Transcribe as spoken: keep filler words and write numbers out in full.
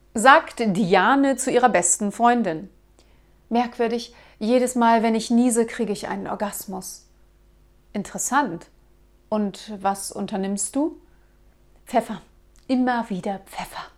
Sagt Diane zu ihrer besten Freundin. Merkwürdig, jedes Mal, wenn ich niese, kriege ich einen Orgasmus. Interessant. Und was unternimmst du? Pfeffer. Immer wieder Pfeffer.